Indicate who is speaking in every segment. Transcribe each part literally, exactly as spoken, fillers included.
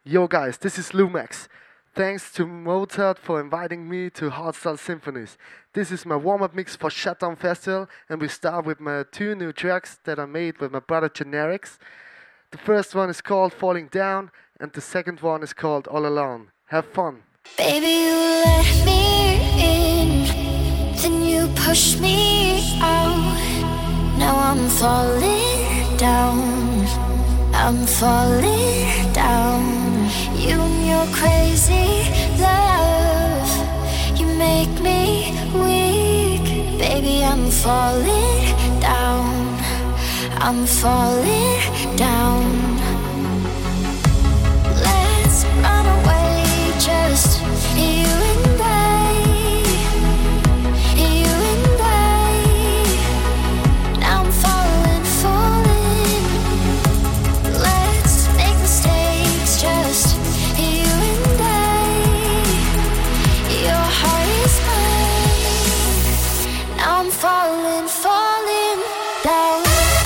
Speaker 1: Yo guys, this is Lumax. Thanks to Mozart for inviting me to Hardstyle Symphonies. This is my warm-up mix for Shutdown Festival, and we start with my two new tracks that I made with my brother Generics. The first one is called Falling Down, and the second one is called All Alone. Have fun.
Speaker 2: Baby, you let me in, then you push me out. Now I'm falling down, I'm falling down. You and your crazy love, you make me weak. Baby, I'm falling down, I'm falling down. Let's run away, just you and I, you and I. Now I'm falling, falling. Let's make mistakes, just you and I. Your heart is mine. Now I'm falling, falling down.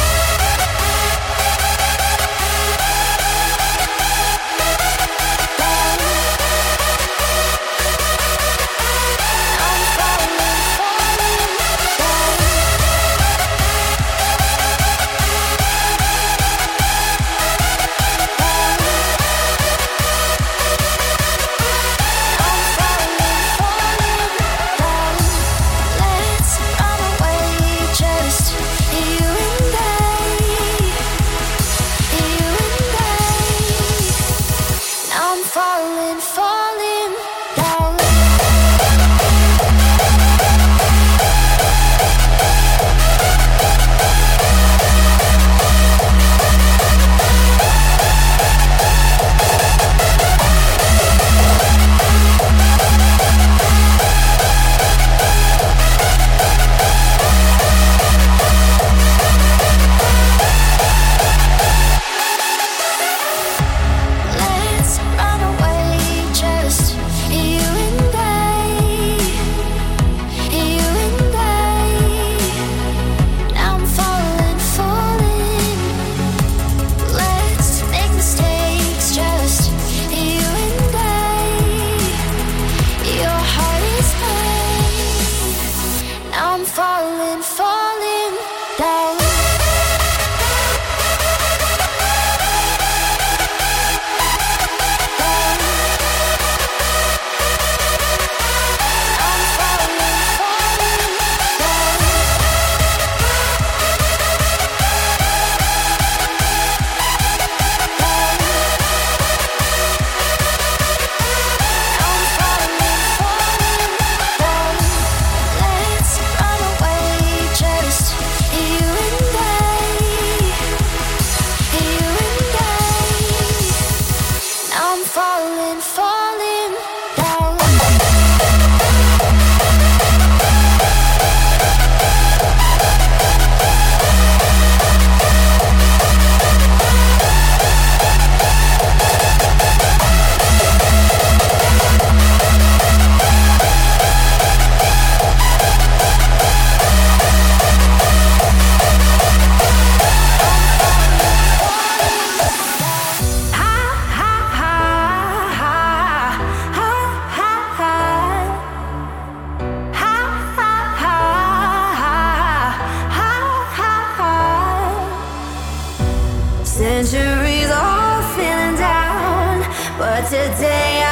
Speaker 3: Centuries all feeling down, but today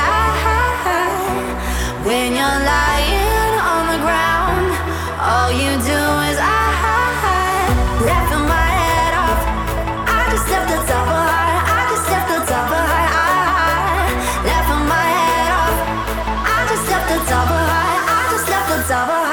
Speaker 3: I, when you're lying on the ground, all you do is I, laughing my head off. I just left the top of high, I just left the top of high, I, laughing my head off. I just left the top of high, I just left the top of high.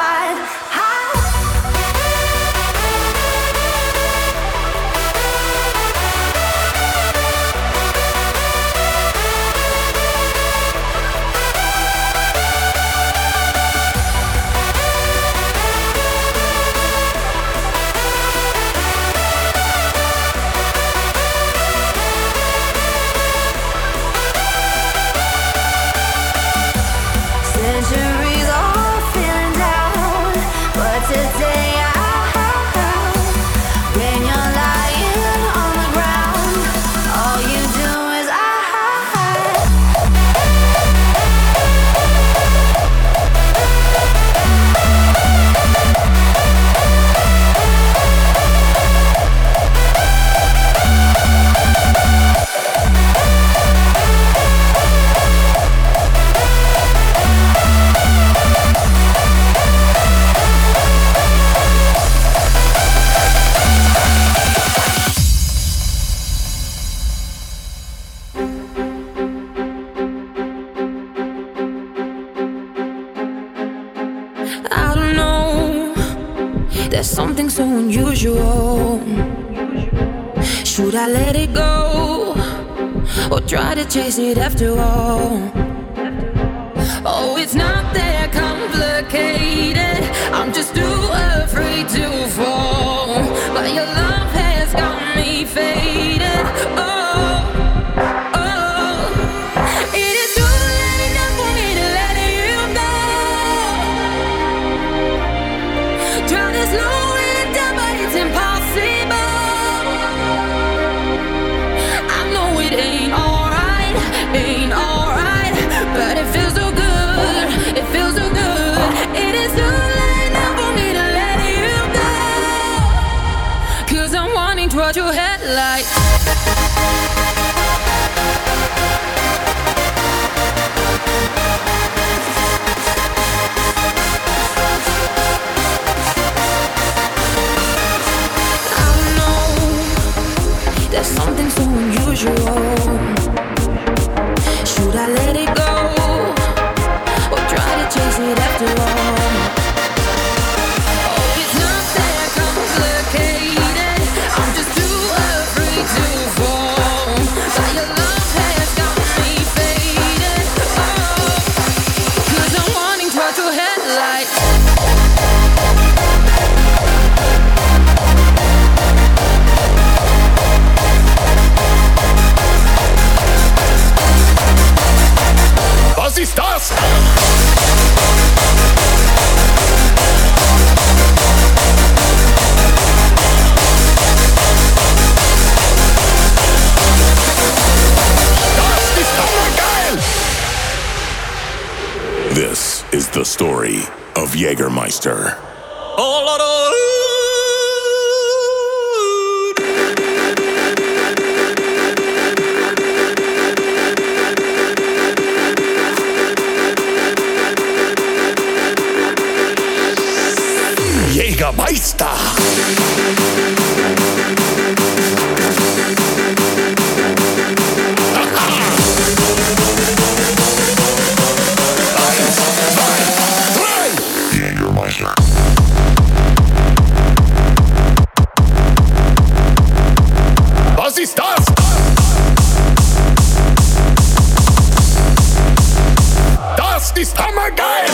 Speaker 4: There's something so unusual. Should I let it go or try to chase it after all? Oh, it's not that complicated. I'm just too afraid to fall. But your love has got me faded. Oh, oh. It is too late enough for me to let you go. Try to slow it down, but it's impossible. I know it ain't alright, ain't alright, but it feels so good, it feels so good. It is too late now for me to let you go, 'cause I'm wanting towards your headlight. I know there's something so unusual. Should I let it go or try to chase it after all? Oh, it's not that complicated. I'm just too afraid to fall. But your love has got me faded. Oh, 'cause I'm wanting towards your headlight.
Speaker 5: Was ist das? Das ist hammergeil! This is the story of Jägermeister. Oh, Lord, oh. Jägermeister. Eins, zwei, drei. Jägermeister. Was ist das? Das ist hammergeil!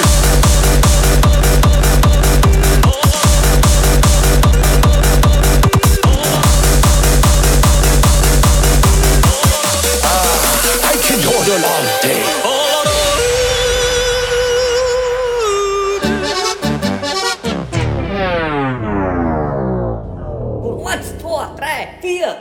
Speaker 6: Eins, zwei, drei, vier.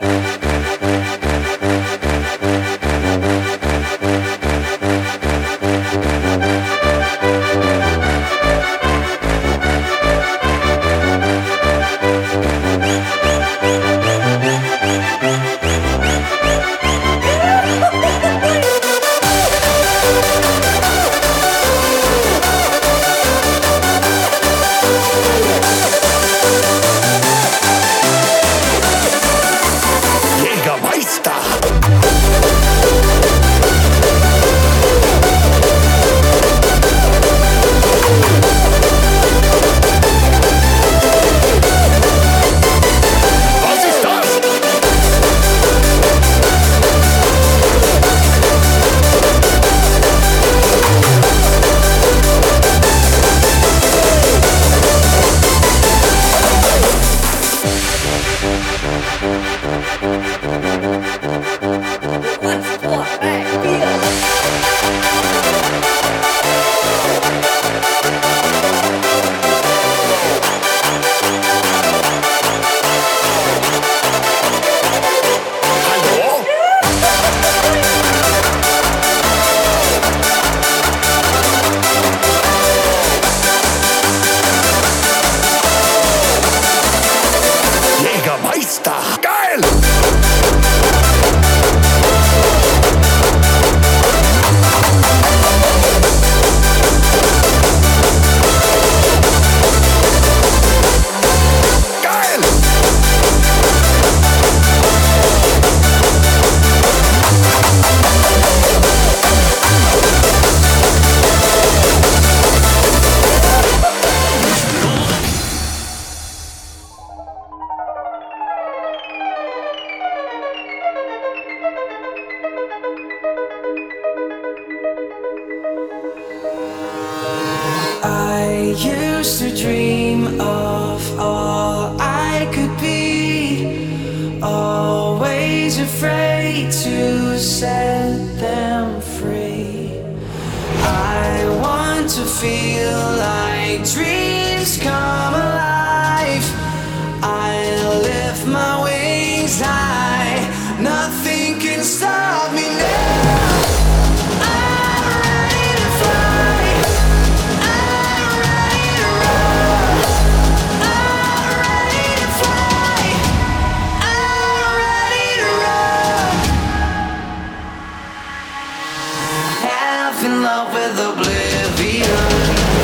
Speaker 4: used to dream of all I could be, always afraid to set them free. I want to feel like dreams come alive. I'll lift my wings high, nothing can stop me now. In love with oblivion.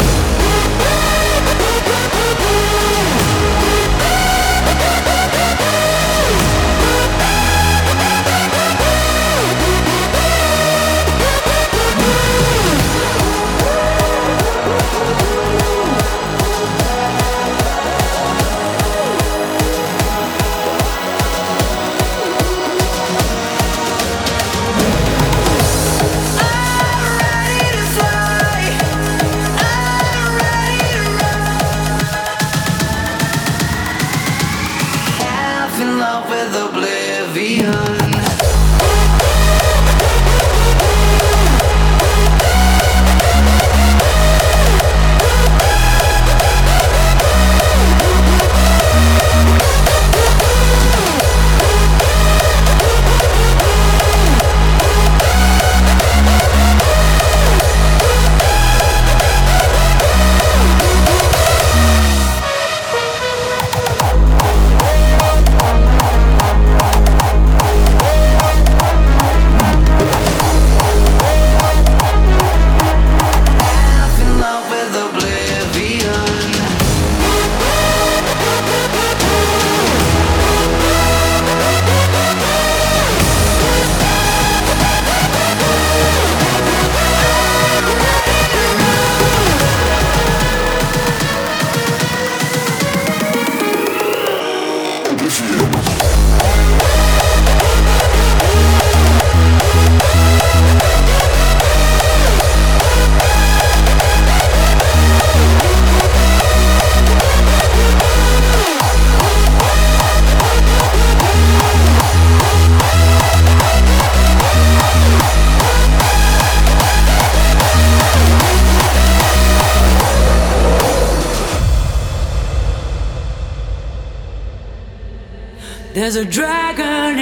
Speaker 7: There's a dragon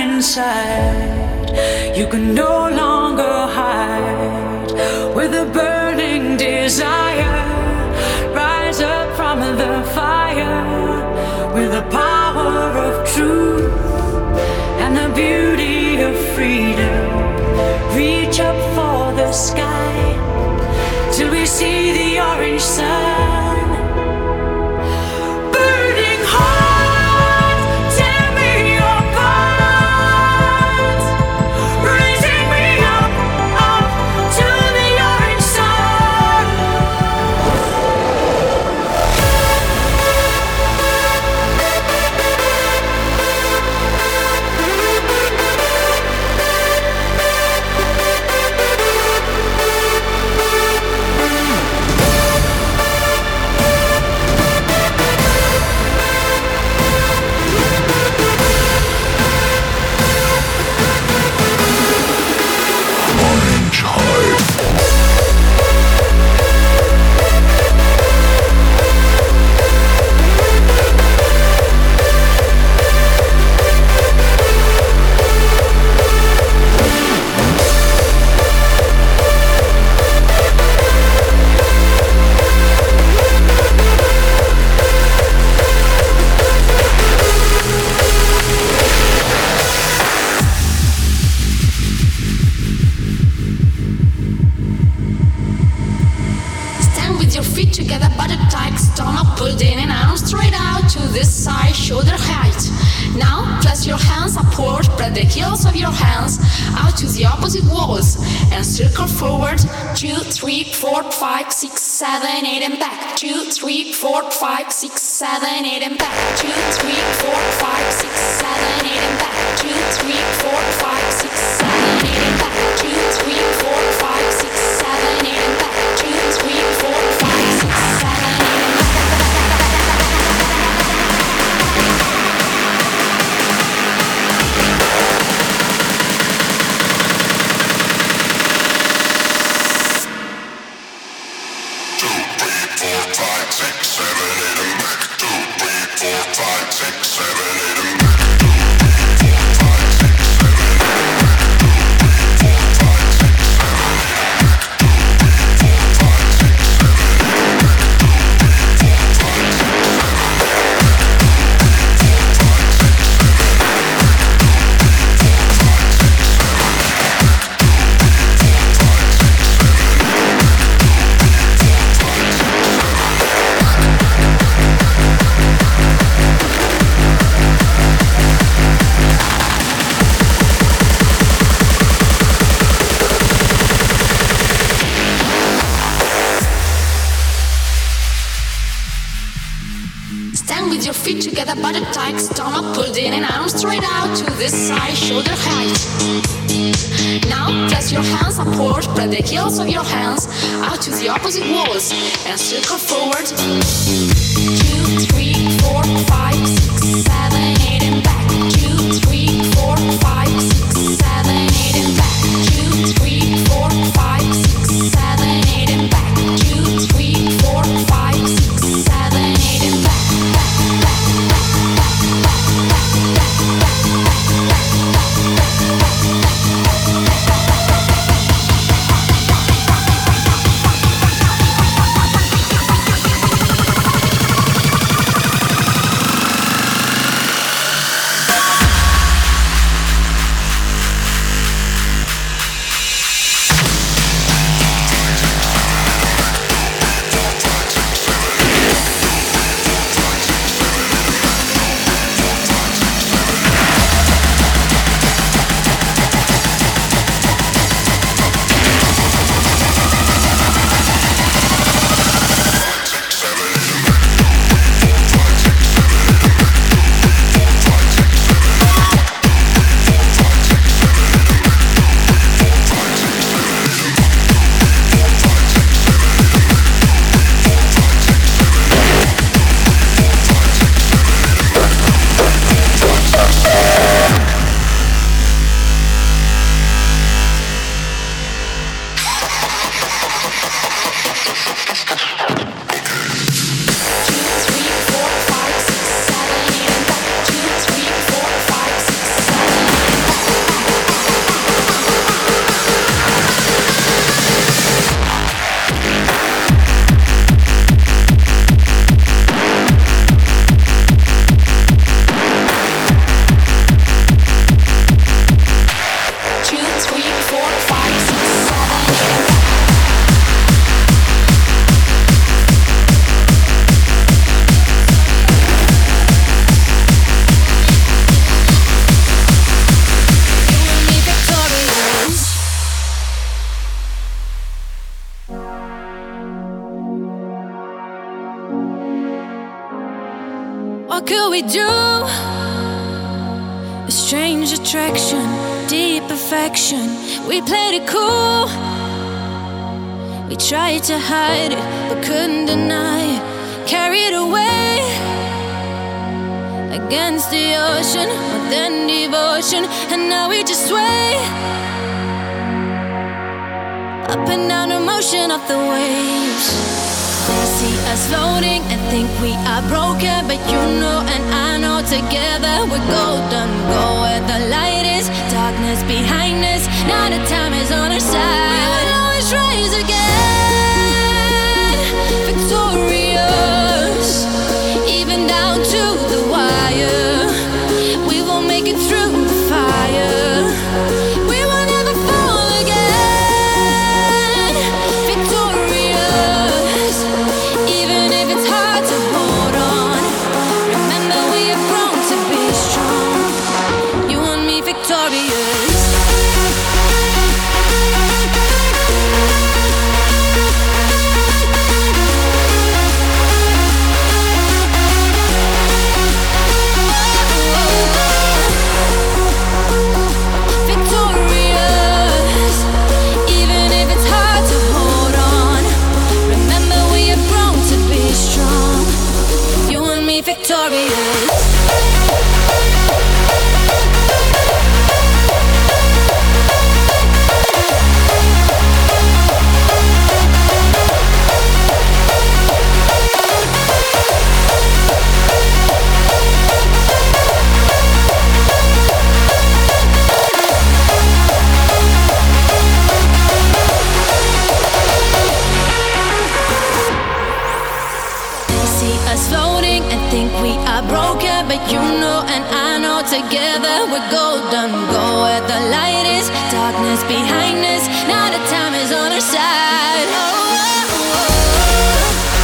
Speaker 7: inside, you can no longer hide. With a burning desire, rise up from the fire. With the power of truth and the beauty of freedom, reach up for the sky till we see the orange sun.
Speaker 2: Seven, eight, and back. Two, three, four, five, six, seven, eight, and back. Two, three, four, five, six, seven, eight, and back. Two, three, four, five, six, seven, eight, and back. Two, three, four, five, six, seven, eight, and back. Two, three, four, five, six, seven, eight, and back. feet together, body tight, stomach pulled in and arms straight out to the side, shoulder height. Now place your hands upward, spread the heels of your hands out to the opposite walls and circle forward. Two, three, four, five, six, seven, eight, and back. Two, three, four, five, six, seven, eight, and back. Two, three, four, five, six, seven, eight, and back. Two, three, four, five, six, seven, eight, and back.
Speaker 4: What could we do? A strange attraction, deep affection. We played it cool. We tried to hide it, but couldn't deny it. Carried away against the ocean, more than devotion. And now we just sway up and down the motion of the waves. They see us floating and think we are broken, but you know and I know together we're golden. Go where the light is, darkness behind us. Now the time is on our side. We will always rise again, victorious, even down to the wire. We will make it through the fire. We will never fall again, victorious, even if it's hard to hold on. Remember we have grown to be strong. You and me victorious. Victorious, even if it's hard to hold on. Remember we have grown to be strong. You and me victorious. They see us floating and think we are broken, but you know and I know together we're golden. Go where the light is, darkness behind us. Now the time is on our side. Oh, oh, oh.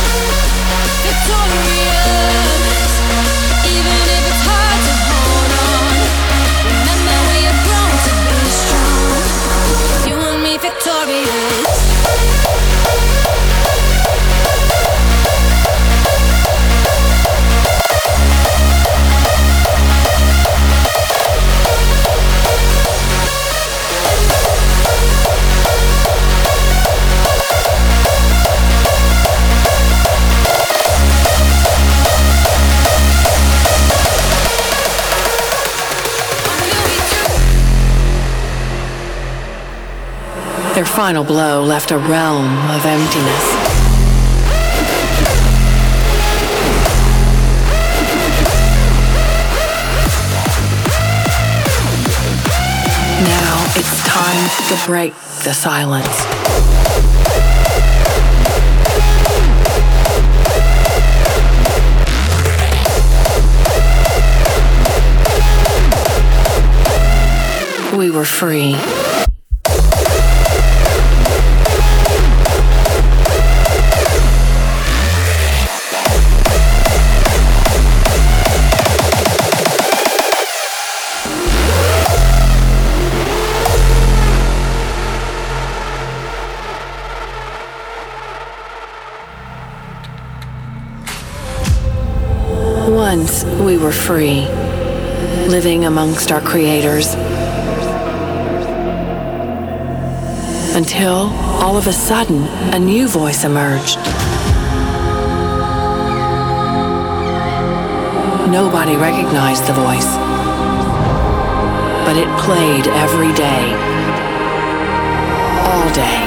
Speaker 4: Victorious, even if it's hard to hold on. Remember we have grown to be strong. You and me victorious. Their final blow left a realm of emptiness. Now it's time to break the silence. We were free. Once we were free, living amongst our creators. Until, all of a sudden, a new voice emerged. Nobody recognized the voice, but it played every day, all day.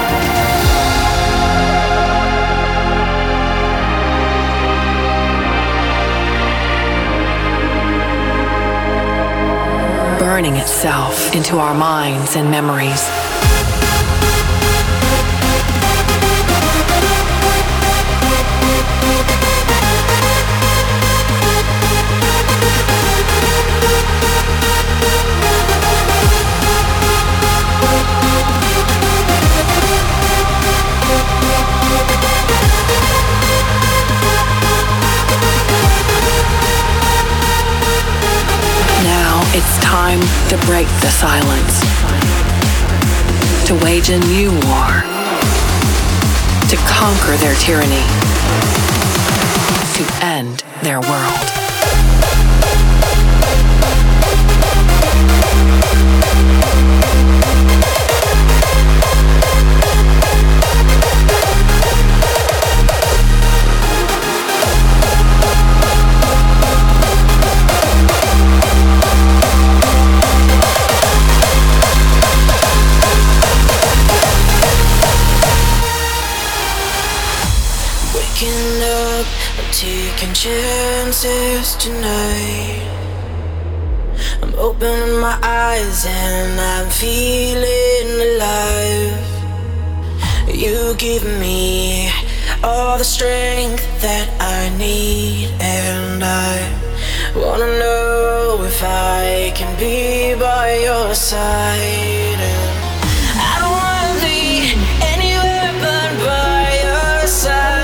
Speaker 4: Burning itself into our minds and memories. It's time to break the silence, to wage a new war, to conquer their tyranny, to end their world.
Speaker 8: Taking chances tonight. I'm opening my eyes and I'm feeling alive. You give me all the strength that I need, and I wanna know if I can be by your side. And I don't wanna be anywhere but by your side.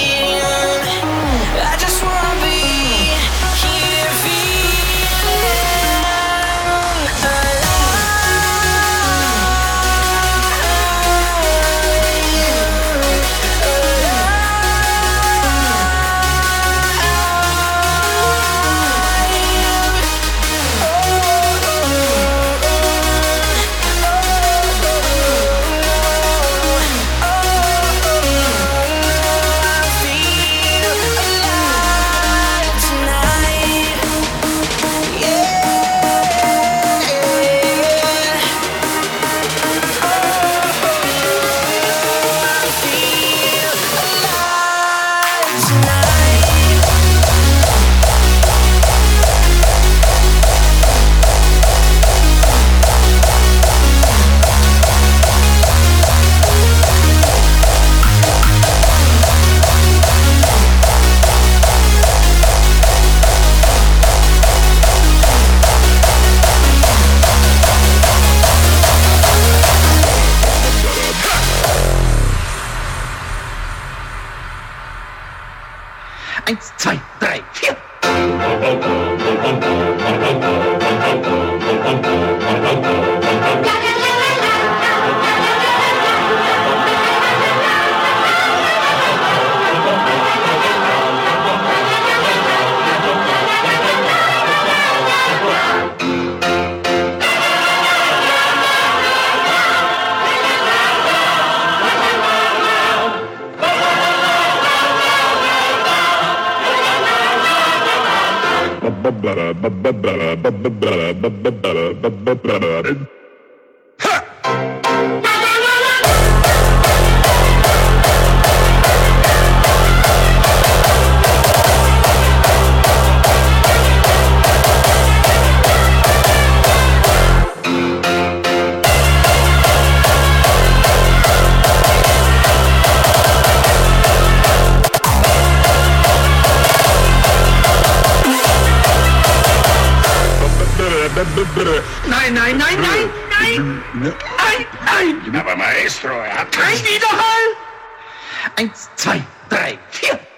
Speaker 9: Eins, zwei, drei, vier. Ha! Nein, nein, nein, nein, nein! Nein, nein!
Speaker 5: Aber Maestro, er hat
Speaker 9: Kein Widerhall! Eins, zwei, drei, vier!